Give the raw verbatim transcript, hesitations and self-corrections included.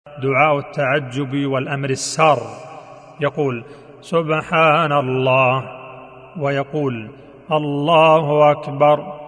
دعاء التعجب والأمر السار، يقول سبحان الله، ويقول الله أكبر،